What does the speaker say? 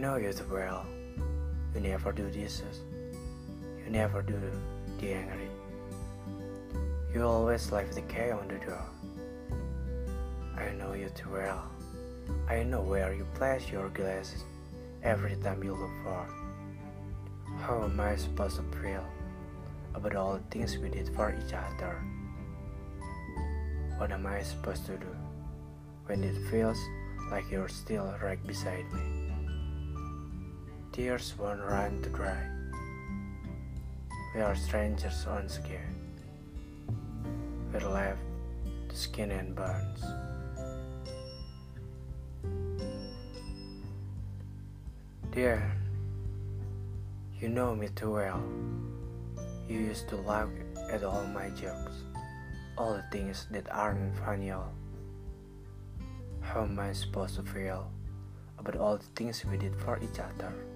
know you too well. You never do dishes. You never do the angry. You always leave the key on the door. I know you too well. I know where you place your glasses every time you look for. How am I supposed to feel about all the things we did for each other? What am I supposed to do when it feels like you're still right beside me? Tears won't run to dry. We are strangers once again. We're left to skin and bones. Dear, you know me too well. You used to laugh at all my jokes, all the things that aren't funny at all. How am I supposed to feel about all the things we did for each other?